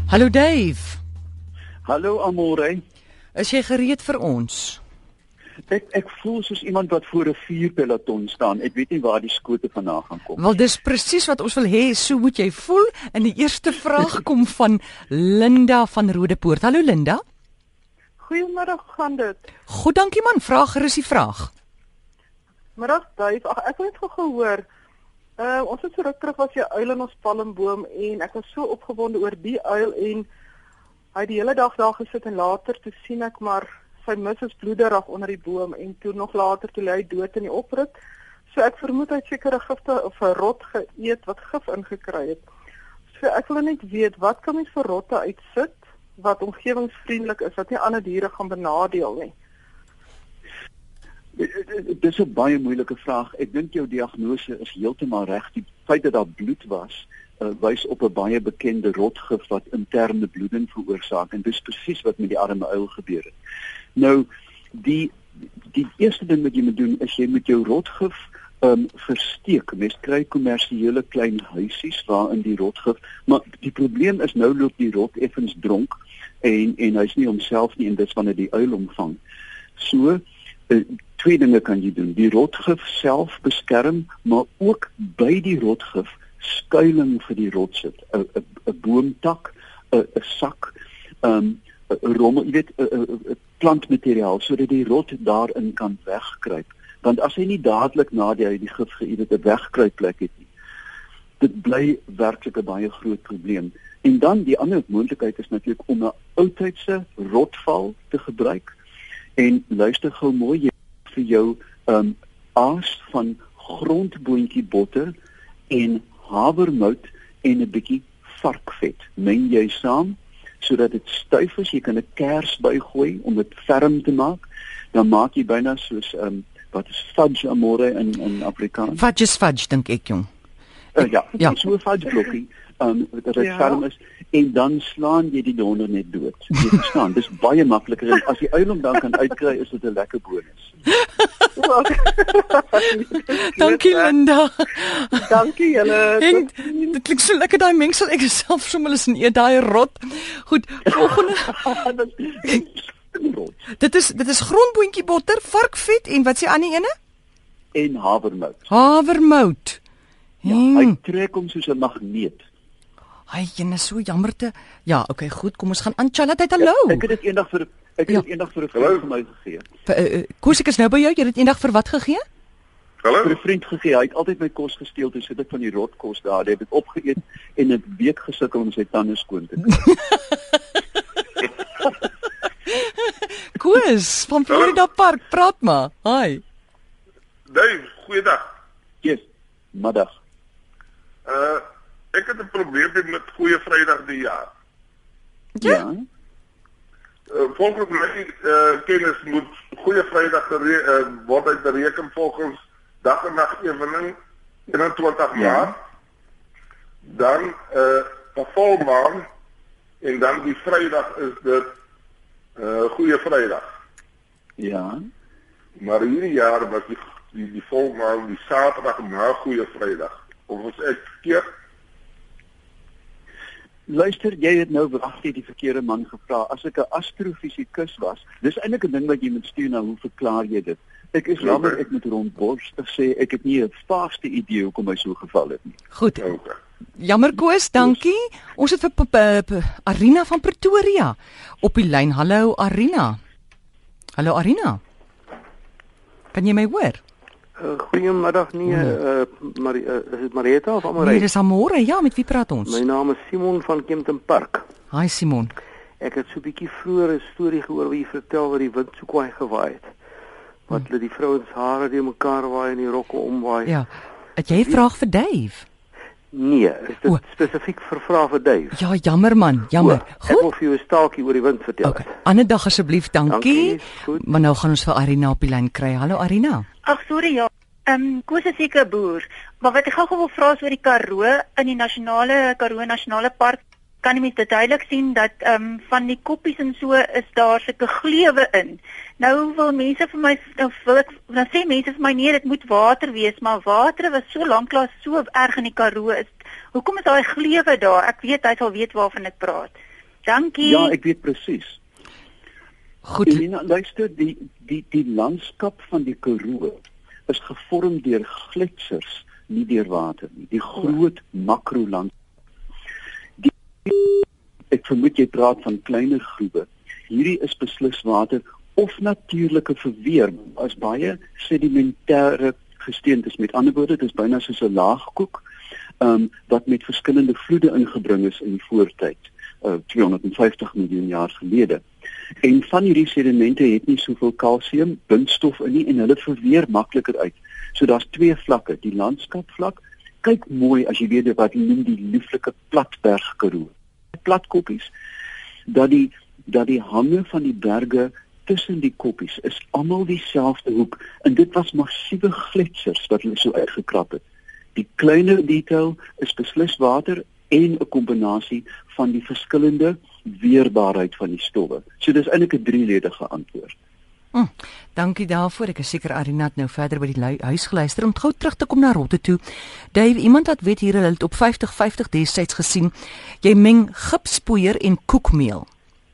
Hallo Dave. Hallo Amore. Is jy gereed vir ons? Ek voel soos iemand wat voor 'n vuurpeloton staan. Ek weet nie waar die skote vandaan gaan kom. Wel, dis presies wat ons wil hê, so moet jy voel. En die eerste vraag kom van Linda van Rodepoort. Hallo Linda. Goeiemiddag, gaan dit? Goed, dankie man. Vraag gerus die vraag. Middag, Dave. Ag, ek het net gehoor. Ons het so ruk terug was jy uil in ons palmboom en ek was so opgewonde oor die uil en hy het die hele dag daar gesit en later toe sien ek maar sy mis is bloederig onder die boom en toe nog later toe lê hy dood in die oprit. So ek vermoed hy het sekere gifte of 'n rot geëet wat gif ingekry het. So ek wil net weet, wat kan mens vir rotte uitsit wat omgewingsvriendelik is, wat nie ander diere gaan benadeel nie? Dis 'n baie moeilike vraag. Ek dink jou diagnose is heeltemal reg. Die feit dat daar bloed was, wys op 'n baie bekende rotgif wat interne bloeding veroorsaak en dis presies wat met die arme uil gebeur het. Nou, die eerste ding wat jy moet doen is jy moet jou rotgif versteek. Mens kry kommersiële klein huisies waarin die rotgif, maar die probleem is nou loop die rot effens dronk en hy's nie homself nie en dis wanneer die uil omvang. So twee dinge kan jy doen. Die rotgif self beskerm, maar ook by die rotgif skuiling vir die rot sit. 'n boomtak, 'n sak, 'n rommel, jy weet, 'n plantmateriaal sodat die rot daarin kan wegkruip. Want as hy nie dadelik nadat hy die gif geëet het 'n wegkruipplek het nie, dit bly werklik 'n baie groot probleem. En dan die ander moontlikheid is natuurlik om 'n oudtydse rotval te gebruik. En luister gou mooi, jy vir jou aas van grondboontjiebotter en havermout en 'n bietjie varkvet. Meng jy saam sodat dit styf is. Jy kan 'n kers bygooi om dit ferm te maak. Dan maak jy byna soos wat is fudge Amore in Afrikaans? Fudge is fudge, dink ek jong. Ja, so 'n fudge blokkie. Dat dit ferm is en dan slaan jy die donder net dood. Jy verstaan, dis baie makliker en as die uil hom dan kan uitkry is dit 'n lekker bonus. Dankie Linda. Dankie julle. Dit klink so lekker daai mengsel. Ek self sommer eens in eet daai rot. Goed, volgende. Dit is grondboontjiebotter, varkvet en wat s'ie ander ene? En havermout. Havermout. Ja, hy trek hom soos 'n magneet. Ai, jy is so jammer te. Ja, okay, goed, kom ons gaan aan. Charlotte, hallo. Ek het dit eendag vir 'n vriend van my gegee. Koos, ek is nou by jou. Jy het dit eendag vir wat gegee? Hallo. Vir 'n vriend gegee. Hy het altyd my kos gesteel, toe sit ek van die rotkos daar. Hy het dit opgeëet en 'n week gesukkel om sy tande skoon te kry. Koos, van Florida Park, praat maar. Hi. Dave, goeiedag. Yes, middag. Ek het 'n probleem met Goeie Vrydag die jaar. Ja. Volgens my kennis moet Goeie Vrydag word uitbereken volgens dag en nag evening 21 Maart. Dan 'n volmaan en dan die Vrydag is dit Goeie Vrydag. Ja. Maar hierdie jaar was die volmaan die Saterdag na Goeie Vrydag. Of was ek verkeerd? Luister, jy het nou wragtig die verkeerde man gevra. As ek 'n astrofisikus was, dis eintlik 'n ding wat jy moet stuur na hoe verklaar jy dit? Ek is jammer, ek moet rondborstig sê ek het nie 'n vaagste idee hoekom hy so geval het nie. Goed. Jammer Koos, dankie. Ons het vir Arina van Pretoria op die lyn. Hallo Arina. Hallo Arina. Kan jy my hoor? Goeiemiddag is dit Marieta of Amore? Nee, dis Amore. Ja, met wie praat ons? My naam is Simon van Kempton Park. Hi Simon. Ek het so 'n bietjie vroeër 'n storie gehoor waar jy vertel wat die wind so kwaai gewaai het. Wat hulle die vrouens hare deur mekaar waai en die rokke omwaai. Ja. Het jy 'n vraag vir Dave? Nee, is dit spesifiek vir vrae vir Dave? Ja, jammer man, jammer. Goed. Ek wil vir jou 'n staaltjie oor die wind vertel. Okay. Ander dag asseblief, dankie. Maar nou gaan ons vir Arina op die lyn kry. Hallo Arina. Ag sorry ja. Koos is seker 'n boer, maar wat ek gou wil vra is oor die Karoo in die Karoo Nasionale Park. Kan jy mens dit duidelik sien dat van die koppies en so is daar sulke gleuwe in. Nou wil mense vir my dan sê mense vir my nee, dit moet water wees, maar water was so lanklaas so erg in die Karoo is. Hoekom is daai gleuwe daar? Ek weet hy sal weet waarvan ek praat. Dankie. Ja, ek weet presies. Goed. Elina, luister, die landskap van die Karoo is gevorm deur gletsers, nie deur water nie. Die groot makroland. Ek vermoed jy praat van kleiner groewe. Hierdie is beslis water of natuurlike verweer as baie sedimentêre gesteentes. Met ander woorde, dit is byna soos 'n laagkoek wat met verskillende vloede ingebring is in die voortyd, 250 miljoen jaar gelede. En van hierdie sedimente het nie soveel kalsium, bindstof in nie en hulle verweer makliker uit. So daar's twee vlakke, die landskapvlak. Kyk mooi as jy weet wat hulle noem die lieflike platberg Karoo. Platkoppies dat die hange van die berge tussen die koppies is almal dieselfde hoek en dit was massiewe gletsers wat hulle so uitgekrap het. Die kleiner detail is beslis water en 'n kombinasie van die verskillende weerbaarheid van die stowwe. So dis eintlik 'n drieledige antwoord. Dankie daarvoor. Ek is seker Arina het nou verder by die huis geluister om gou terug te kom na Rotte toe. Dave, iemand wat weet hier hulle het op 50-50 destyds gesien. Jy meng gipspoeier en koekmeel.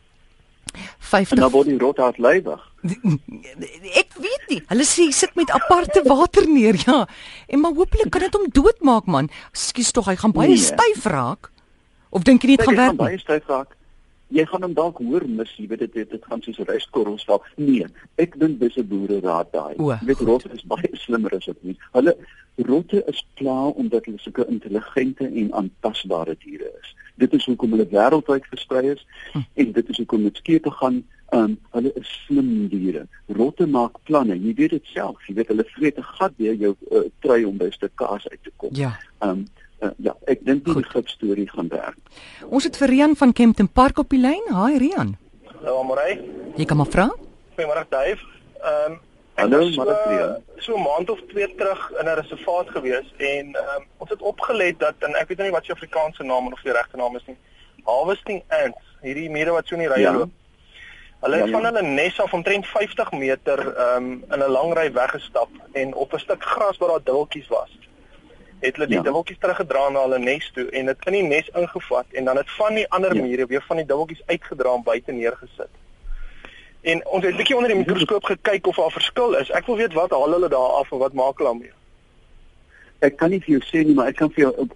50 En dan word die rotte hartlywig. Ek weet nie. Hulle sê sit met aparte water neer, ja. En maar hopelik kan dit hom doodmaak man. Ekskuus tog, hy gaan baie styf raak. Of dink jy nie dit gaan werk nie? Baie styf raak. Jy gaan hom dalk hoor mis, jy weet dit gaan soos ryskorrels val. Nee, ek dink dis 'n boereraad daai. Jy weet rotte is baie slimmer as ek nie. Rotte is pla omdat hulle sulke intelligente en aanpasbare diere is. Dit is hoekom hulle wêreldwyd versprei is en dit is hoekom dit skepe gaan. Hulle is slim diere. Rotte maak planne. Jy weet dit self. Jy weet hulle vreet 'n gat deur jou trui om by 'n stuk kaas uit te kom. Ja. Ja, ek dink die gipstorie gaan werk. Ons het vir Rian van Kempton Park op die lyn. Haai Rian. Hallo Amorey. Jy kan maar vra. Goeiemôre Dave. Hallo Rian. So 'n maand of 2 terug in 'n reservaat gewees en ons het opgelet dat en ek weet nou nie wat se Afrikaanse naam of die regte naam is nie. Harvesting ants, hierdie mure wat so in die rye loop. Hulle het van hulle nes af omtrent 50 meter in 'n lang ry weggestap en op 'n stuk gras waar daar dubbeltjies was. Het hulle die dubbeltjies teruggedra na hulle nes toe en dit in die nes ingevat en dan het van die ander mure weer van die dubbeltjies uitgedra en buite neergesit. En ons het 'n bietjie onder die mikroskoop gekyk of daar 'n verskil is. Ek wil weet wat haal hulle daar af en wat maak hulle daarmee? Ek kan nie vir jou sê nie, maar ek kan vir jou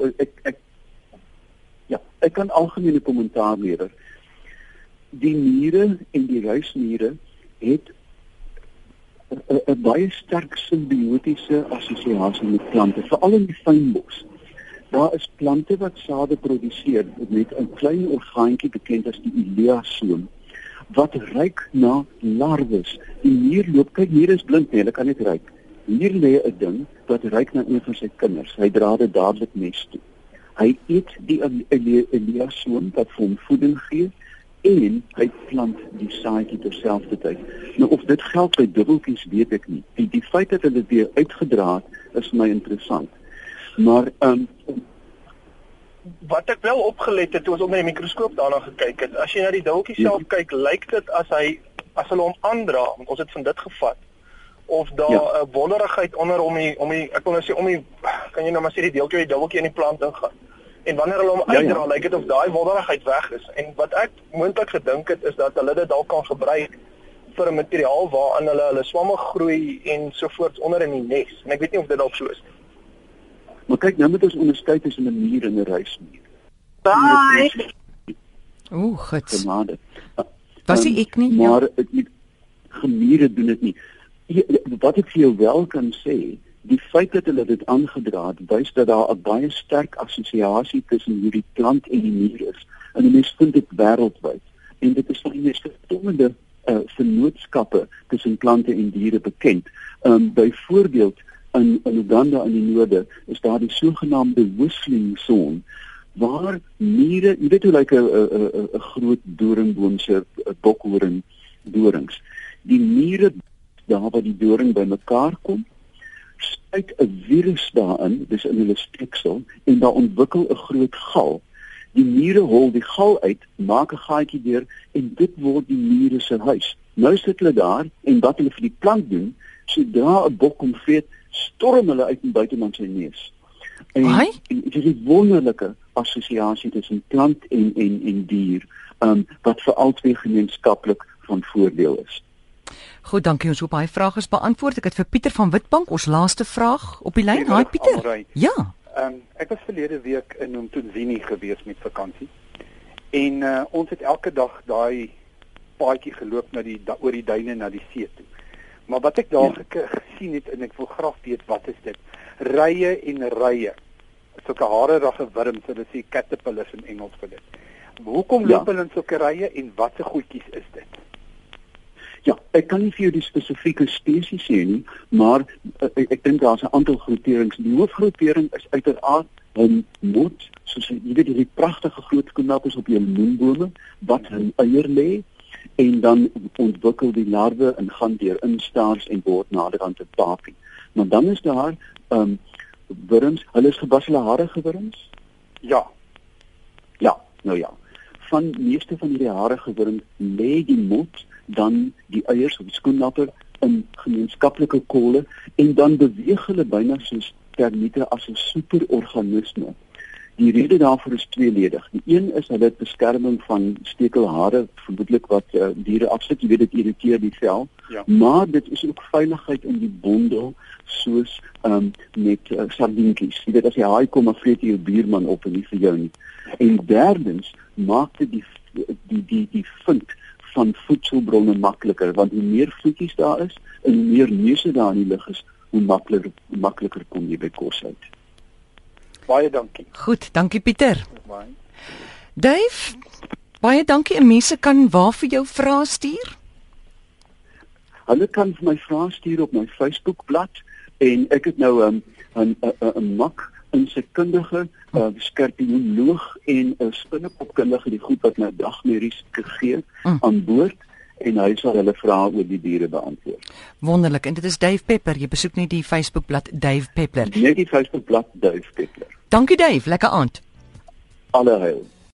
ek kan algemene kommentaar lewer. Die mure en die ruismure het 'n baie sterk simbiotiese assosiasie met plante, veral in die fynbos. Daar is plante wat sade produseer met 'n klein orgaantjie bekend as die iliasoom wat ruik na larwes. Die mier loop, kyk hier is blind, nee, hulle kan net ruik. Hier lê 'n ding wat ruik na een van sy kinders. Hy dra dit dadelik nes toe. Hy eet die iliasoom wat vir hom voeding gee en hy plant die saadjie terselfdertyd. Nou of dit geld by dubbeltjies weet ek nie. Die feit dat hulle weer uitgedra het is vir my interessant. Maar wat ek wel opgelet het toe ons onder die mikroskoop daarna gekyk het, as jy na die dubbeltjie self kyk, lyk dit as hulle hom aandra, want ons het van dit gevat, of daar 'n wollerigheid onder om die ek wil nou sê om die kan jy nou maar sê die deeltjie uit die dubbeltjie in die plant ingaan. En wanneer hulle hom uitdra, lyk dit of daai wollerigheid weg is. En wat ek moontlik gedink het is dat hulle dit dalk kan gebruik vir 'n materiaal waarin hulle swamme groei en sovoorts onder in die nes. En ek weet nie of dit dalk so is nie. Maar kyk, nou moet ons onderskei tussen 'n muur en 'n ruismuur. Bye. Goed. Was ek nie? Maar gemiere doen dit nie. Wat ek vir jou wel kan sê, die feit dat hulle dit aangedra het, wys dat daar 'n baie sterk assosiasie tussen hierdie plant en die muur is. En mense vind dit wêreldwyd. En dit is van die mees verstommende vennootskappe tussen plante en diere bekend. Byvoorbeeld in Uganda in die noorde is daar die sogenaamde whistling zone waar mure, jy weet hoe lyk 'n groot doringboom se bokhoring dorings. Die mure daar waar die doring bymekaar kom, spuit 'n virus daarin, dis in hulle steeksel en daar ontwikkel 'n groot gal. Die mure hol die gal uit, maak 'n gaatjie deur en dit word die mure se huis. Nou sit hulle daar en wat hulle vir die plant doen, sodra 'n bok kom vreet, storm hulle uit en buite man sy neus. En dit is 'n wonderlike assosiasie tussen plant en dier wat vir albei gemeenskaplik van voordeel is. Goed, dankie. Ons hoop hy vraag is beantwoord. Ek het vir Pieter van Witbank ons laaste vraag op die lyn. Haai Pieter. Ja. Ek was verlede week in Mthunzini gewees met vakansie. En ons het elke dag daai paadjie geloop oor die duine na die see toe. Maar wat ek daar gesien het en ek wil graag weet wat is dit? Rye en rye. Sulke harerige wurms, hulle sê caterpillars in Engels vir dit. Hoekom loop hulle in sulke rye en watse goedjies is dit? Ja, ek kan nie vir jou die spesifieke spesies sê nie, maar ek dink daar's 'n aantal groeperings. Die hoofgroepering is uiteraard 'n mot, soos jy weet hierdie pragtige groot koenappels op jou lemoenbome wat 'n eier lê en dan ontwikkel die larwe en gaan deur instaars en word naderhand 'n papie. Maar dan is daar wurms, hulle is gebaselharige wurms? Ja. Ja, nou ja. Van meeste van hierdie harige wurms lê die mot dan die eiers of die skoennapper in gemeenskaplike kolle en dan beweeg hulle byna soos termiete as 'n superorganisme. Die rede daarvoor is tweeledig. Die een is hulle beskerming van stekelhare, vermoedelik wat diere afsit, jy weet dit irriteer die vel. Ja. Maar dit is ook veiligheid in die bondel soos met sardientjies. Jy weet as jy haai kom dan vreet jy jou buurman op en nie vir jou nie. En derdens maak dit die vind van voedselbronne makliker, want hoe meer voetjies daar is en hoe meer neuse daar in die lug is, hoe makliker kom jy by kos uit. Baie dankie. Goed, dankie Pieter. Dave, baie dankie. En mense kan waar vir jou vrae stuur? Hulle kan vir my vrae stuur op my Facebookblad en ek het nou 'n mak insekkundige, skorpioenoloog en 'n spinnekopkundige die groep wat nou dagmedies gee aan boord en hy sal hulle vrae oor die diere beantwoord. Wonderlik. En dit is Dave Peppler. Jy besoek net die Facebookblad Dave Peppler. Net die Facebookblad Dave Peppler. Dankie Dave, lekker aand. Alle heil.